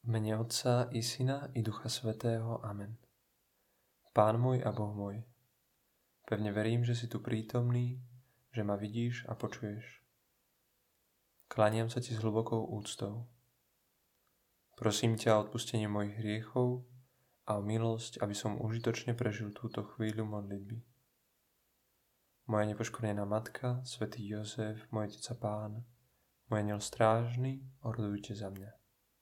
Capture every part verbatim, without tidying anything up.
V mene Otca i Syna i Ducha Svätého. Amen. Pán môj a Boh môj, pevne verím, že si tu prítomný, že ma vidíš a počuješ. Kláňam sa ti s hlbokou úctou. Prosím ťa o odpustenie mojich hriechov a o milosť, aby som užitočne prežil túto chvíľu modlitby. Moja nepoškvrnená matka, svätý Jozef, môj otec a Pán, môj anjel strážny, orodujte za mňa.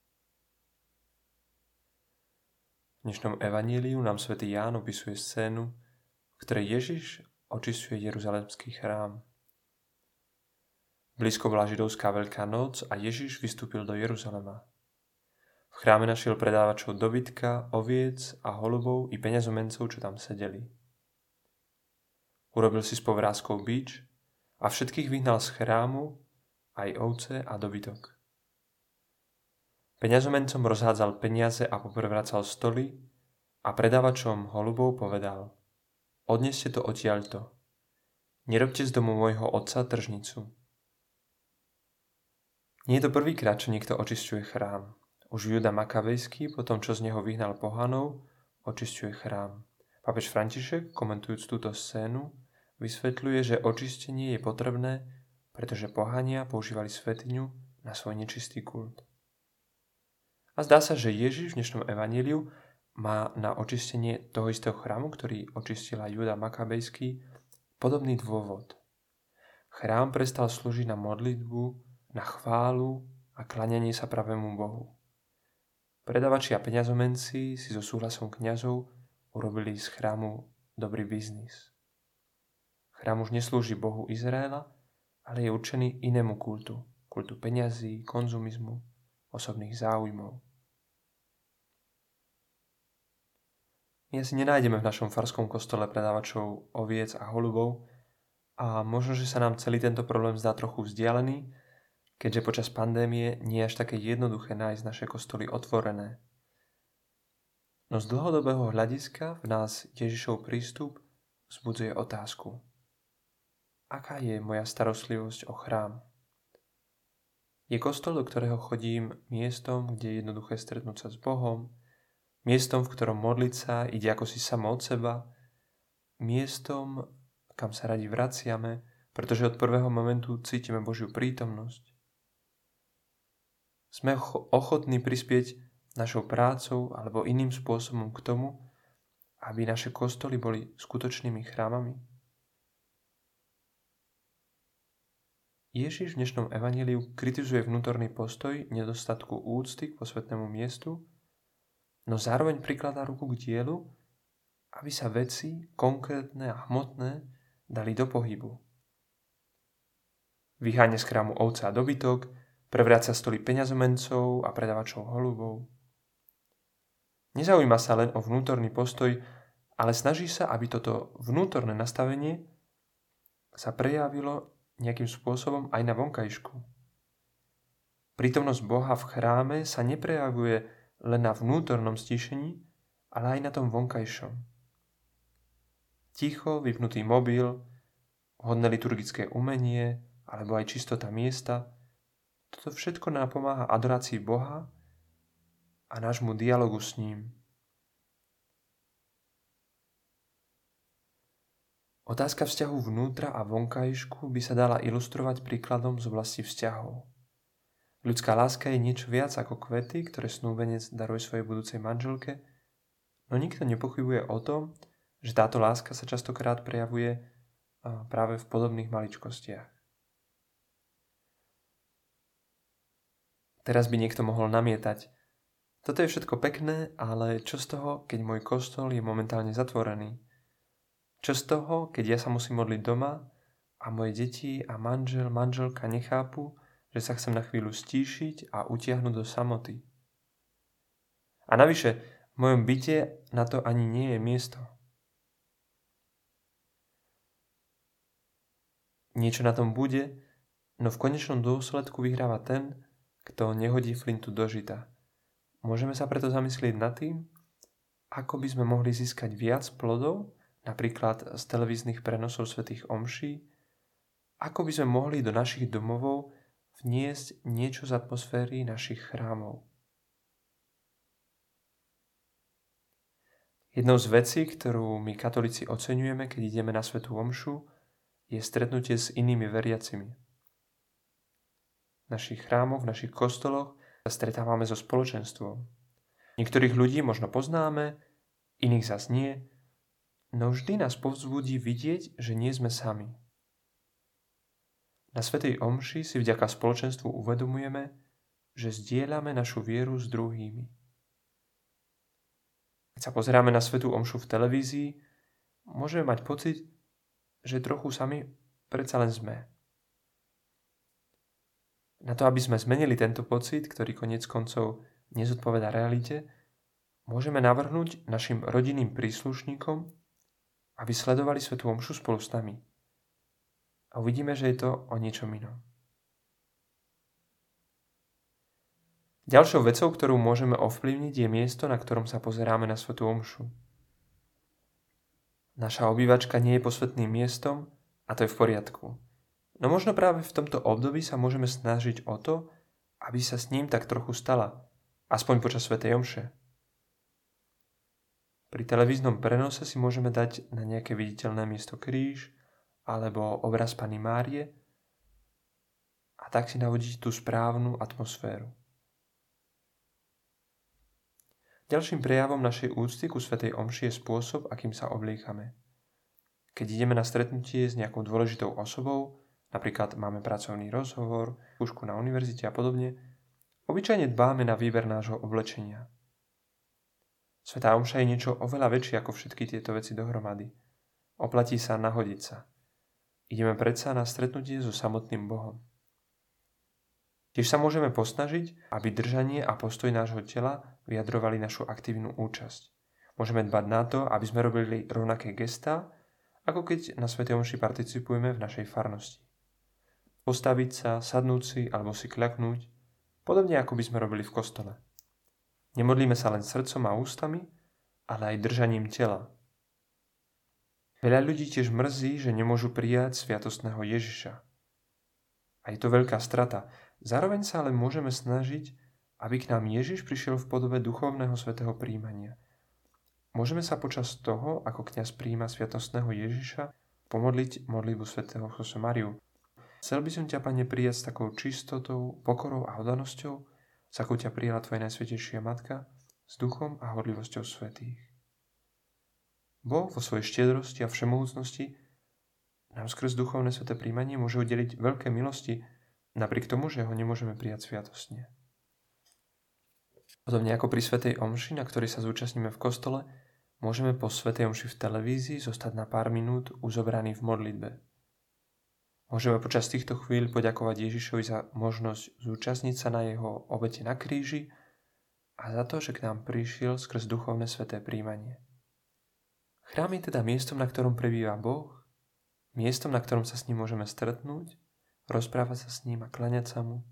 V dnešnom evaníliu nám svätý Ján opisuje scénu, v ktorej Ježiš očisťuje Jeruzalemský chrám. Blízko bola židovská Veľká noc a Ježiš vystúpil do Jeruzalema. V chráme našiel predávačov dobytka, oviec a holubov i peňazomencov, čo tam sedeli. Urobil si s povrázkou bič a všetkých vyhnal z chrámu, aj ovce a dobytok. Peňazomencom rozhádzal peniaze a poprevracal stoly a predávačom holubov povedal: Odneste to odtiaľto. Nerobte z domu môjho otca tržnicu. Nie je to prvýkrát, čo niekto očisťuje chrám. Už Júda Makabejský, po tom, čo z neho vyhnal pohanov, očisťuje chrám. Pápež František, komentujúc túto scénu, vysvetľuje, že očistenie je potrebné, pretože pohania používali svätyňu na svoj nečistý kult. A zdá sa, že Ježiš v dnešnom evaníliu má na očistenie toho istého chrámu, ktorý očistila Júda Makabejský, podobný dôvod. Chrám prestal slúžiť na modlitbu, na chválu a kláňanie sa pravému Bohu. Predavači a peňazomenci si so súhlasom kňazov urobili z chrámu dobrý biznis. Chrám už neslúži Bohu Izraela, ale je určený inému kultu, kultu peňazí, konzumizmu, osobných záujmov. My asi nenájdeme v našom farskom kostole predávačov oviec a holubov a možno, že sa nám celý tento problém zdá trochu vzdialený, keďže počas pandémie nie je až také jednoduché nájsť naše kostoly otvorené. No z dlhodobého hľadiska v nás Ježišov prístup vzbudzuje otázku: aká je moja starostlivosť o chrám? Je kostol, do ktorého chodím, miestom, kde je jednoduché stretnúť sa s Bohom, miestom, v ktorom modliť sa ide ako si samo od seba, miestom, kam sa radi vraciame, pretože od prvého momentu cítime Božiu prítomnosť. Sme ochotní prispieť našou prácou alebo iným spôsobom k tomu, aby naše kostoly boli skutočnými chrámami. Ježiš v dnešnom evaníliu kritizuje vnútorný postoj nedostatku úcty k posvätnému miestu, no zároveň prikladá ruku k dielu, aby sa veci konkrétne a hmotné dali do pohybu. Vyháňa z chrámu ovce a dobytok, prevráca stoly peňazomencov a predávačov holubov. Nezaujíma sa len o vnútorný postoj, ale snaží sa, aby toto vnútorné nastavenie sa prejavilo nejakým spôsobom aj na vonkajšku. Prítomnosť Boha v chráme sa neprejavuje len na vnútornom stíšení, ale aj na tom vonkajšom. Ticho, vypnutý mobil, vhodné liturgické umenie alebo aj čistota miesta, toto všetko nám pomáha adorácii Boha a nášmu dialogu s ním. Otázka vzťahu vnútra a vonkajšku by sa dala ilustrovať príkladom z oblasti vzťahov. Ľudská láska je niečo viac ako kvety, ktoré snúbenec daruje svojej budúcej manželke, no nikto nepochybuje o tom, že táto láska sa častokrát prejavuje práve v podobných maličkostiach. Teraz by niekto mohol namietať: toto je všetko pekné, ale čo z toho, keď môj kostol je momentálne zatvorený? Čo z toho, keď ja sa musím modliť doma a moje deti a manžel, manželka nechápu, že sa chcem na chvíľu stíšiť a utiahnuť do samoty? A navyše, v mojom byte na to ani nie je miesto. Niečo na tom bude, no v konečnom dôsledku vyhráva ten, kto nehodí flintu do žita. Môžeme sa preto zamyslieť nad tým, ako by sme mohli získať viac plodov, napríklad z televíznych prenosov svätých omší, ako by sme mohli do našich domovov vniesť niečo z atmosféry našich chrámov. Jednou z vecí, ktorú my katolíci oceňujeme, keď ideme na svätú omšu, je stretnutie s inými veriacimi. V našich chrámoch, v našich kostoloch sa stretávame so spoločenstvom. Niektorých ľudí možno poznáme, iných zas nie, no vždy nás povzbudí vidieť, že nie sme sami. Na svätej omši si vďaka spoločenstvu uvedomujeme, že zdieľame našu vieru s druhými. Keď sa pozeráme na svätú omšu v televízii, môžeme mať pocit, že trochu sami predsa len sme. Na to, aby sme zmenili tento pocit, ktorý koniec koncov nezodpovedá realite, môžeme navrhnúť našim rodinným príslušníkom, aby sledovali svätú omšu spolu s nami. A uvidíme, že je to o niečom inom. Ďalšou vecou, ktorú môžeme ovplyvniť, je miesto, na ktorom sa pozeráme na svätú omšu. Naša obývačka nie je posvätným miestom a to je v poriadku. No možno práve v tomto období sa môžeme snažiť o to, aby sa s ním tak trochu stala, aspoň počas svätej omše. Pri televíznom prenose si môžeme dať na nejaké viditeľné miesto kríž alebo obraz Panny Márie a tak si navodiť tú správnu atmosféru. Ďalším prejavom našej úcty ku svätej omši je spôsob, akým sa obliekame. Keď ideme na stretnutie s nejakou dôležitou osobou, napríklad máme pracovný rozhovor, skúšku na univerzite a podobne, obyčajne dbáme na výber nášho oblečenia. Svätá omša je niečo oveľa väčšie ako všetky tieto veci dohromady. Oplatí sa nahodiť sa. Ideme predsa na stretnutie so samotným Bohom. Tiež sa môžeme posnažiť, aby držanie a postoj nášho tela vyjadrovali našu aktívnu účasť. Môžeme dbať na to, aby sme robili rovnaké gestá, ako keď na svätej omši participujeme v našej farnosti. Postaviť sa, sadnúť si alebo si kľaknúť, podobne ako by sme robili v kostole. Nemodlíme sa len srdcom a ústami, ale aj držaním tela. Veľa ľudí tiež mrzí, že nemôžu prijať sviatostného Ježiša. A je to veľká strata. Zároveň sa ale môžeme snažiť, aby k nám Ježiš prišiel v podobe duchovného svätého prijímania. Môžeme sa počas toho, ako kňaz prijíma sviatostného Ježiša, pomodliť modlitbu svätého Josemariu. Chcel by som ťa, Pane, prijať s takou čistotou, pokorou a oddanosťou, s akou ťa prijala tvoja najsvätejšia Matka, s duchom a horlivosťou svätých. Boh vo svojej štiedrosti a všemohúcnosti nám skrz duchovné sväté prijímanie môže udeliť veľké milosti, napriek tomu, že ho nemôžeme prijať sviatostne. Podobne ako pri svätej omši, na ktorej sa zúčastníme v kostole, môžeme po svätej omši v televízii zostať na pár minút uzobraní v modlitbe. Môžeme počas týchto chvíľ poďakovať Ježišovi za možnosť zúčastniť sa na jeho obete na kríži a za to, že k nám prišiel skrz duchovné sväté prijímanie. Chrám je teda miestom, na ktorom prebýva Boh, miestom, na ktorom sa s ním môžeme stretnúť, rozprávať sa s ním a kláňať sa mu.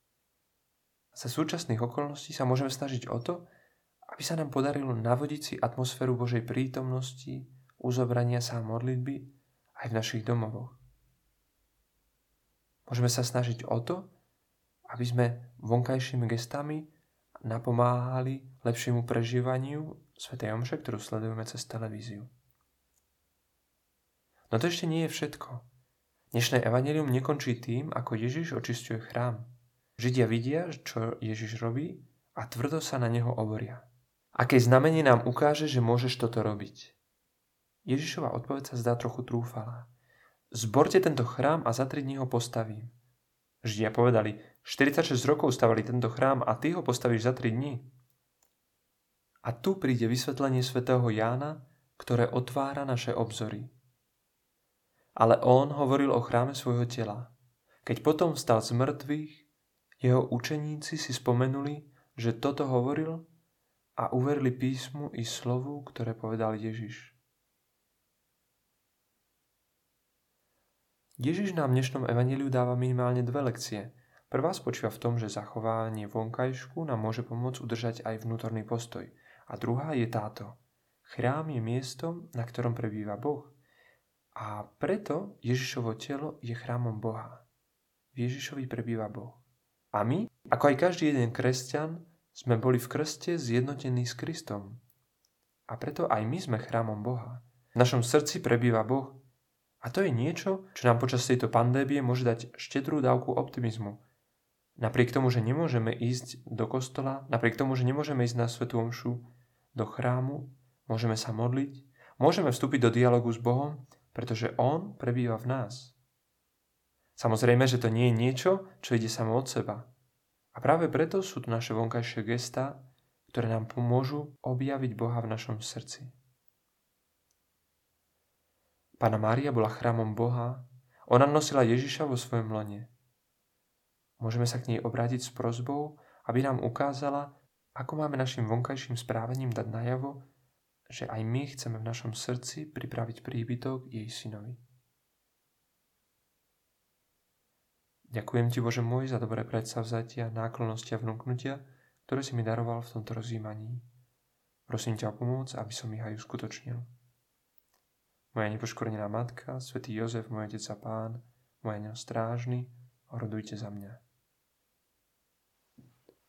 Za súčasných okolností sa môžeme snažiť o to, aby sa nám podarilo navodiť si atmosféru Božej prítomnosti, uzobrania sa a modlitby aj v našich domovoch. Môžeme sa snažiť o to, aby sme vonkajšími gestami napomáhali lepšiemu prežívaniu svätej omše, ktorú sledujeme cez televíziu. No to ešte nie je všetko. Dnešné evanjelium nekončí tým, ako Ježiš očisťuje chrám. Židia vidia, čo Ježiš robí a tvrdo sa na neho oboria. Aké znamenie nám ukáže, že môžeš toto robiť? Ježišova odpoveď sa zdá trochu trúfalá. Zborte tento chrám a za tri dní ho postavím. Židia povedali, štyridsaťšesť rokov stavali tento chrám a ty ho postavíš za tri dní. A tu príde vysvetlenie svätého Jána, ktoré otvára naše obzory. Ale on hovoril o chráme svojho tela. Keď potom vstal z mŕtvych, jeho učeníci si spomenuli, že toto hovoril a uverili písmu i slovu, ktoré povedal Ježiš. Ježiš nám v dnešnom evanjeliu dáva minimálne dve lekcie. Prvá spočíva v tom, že zachovanie vonkajšku nám môže pomôcť udržať aj vnútorný postoj. A druhá je táto. Chrám je miestom, na ktorom prebýva Boh. A preto Ježišovo telo je chrámom Boha. V Ježišovi prebýva Boh. A my, ako aj každý jeden kresťan, sme boli v krste zjednotení s Kristom. A preto aj my sme chrámom Boha. V našom srdci prebýva Boh. A to je niečo, čo nám počas tejto pandémie môže dať štedrú dávku optimizmu. Napriek tomu, že nemôžeme ísť do kostola, napriek tomu, že nemôžeme ísť na svätú omšu, do chrámu, môžeme sa modliť, môžeme vstúpiť do dialogu s Bohom, pretože On prebýva v nás. Samozrejme, že to nie je niečo, čo ide samo od seba. A práve preto sú tu naše vonkajšie gestá, ktoré nám pomôžu objaviť Boha v našom srdci. Panna Mária bola chrámom Boha, ona nosila Ježiša vo svojom lone. Môžeme sa k nej obrátiť s prosbou, aby nám ukázala, ako máme našim vonkajším správaním dať najavo, že aj my chceme v našom srdci pripraviť príbytok jej synovi. Ďakujem ti, Bože môj, za dobré predsavzatia, náklonnosti a vnúknutia, ktoré si mi daroval v tomto rozjímaní. Prosím ťa o pomoc, aby som ich aj uskutočnil. Moja nepoškvrnená matka, svätý Jozef, môj otec a pán, môj anjel strážny, orodujte za mňa.